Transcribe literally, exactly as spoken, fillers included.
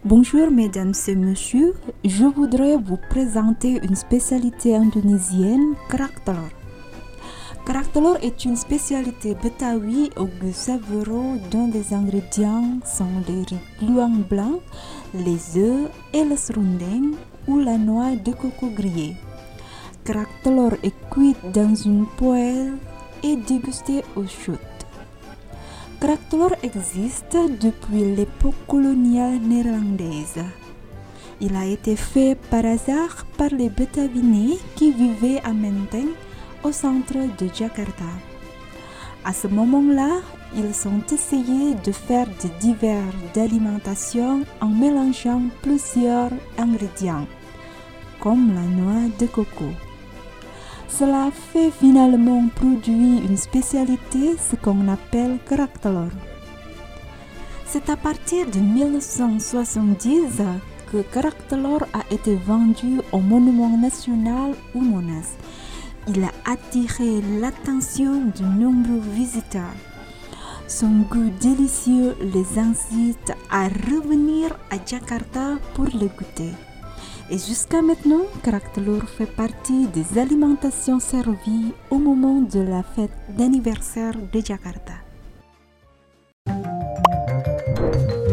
Bonjour mesdames et messieurs, je voudrais vous présenter une spécialité indonésienne, kerak telur. Kerak telur est une spécialité betawi au goût savoureux dont les ingrédients sont les riz gluant blanc, les œufs et le serundeng ou la noix de coco grillée. Kerak telur est cuit dans une poêle et dégusté au chaud. Kerak telur existe depuis l'époque coloniale néerlandaise. Il a été fait par hasard par les Betavinais qui vivaient à Menteng, au centre de Jakarta. À ce moment-là, ils ont essayé de faire des divers d'alimentation en mélangeant plusieurs ingrédients, comme la noix de coco. Cela fait finalement produire une spécialité, ce qu'on appelle kerak telur. C'est à partir de mille neuf cent soixante-dix que kerak telur a été vendu au Monument National ou Monas. Il a attiré l'attention de nombreux visiteurs. Son goût délicieux les incite à revenir à Jakarta pour le goûter. Et jusqu'à maintenant, kerak telur fait partie des alimentations servies au moment de la fête d'anniversaire de Jakarta.